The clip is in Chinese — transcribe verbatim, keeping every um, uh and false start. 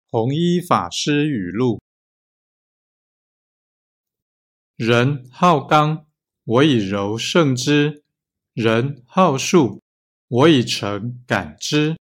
弘一法师语录：人好刚，我以柔胜之；人好术，我以诚感之。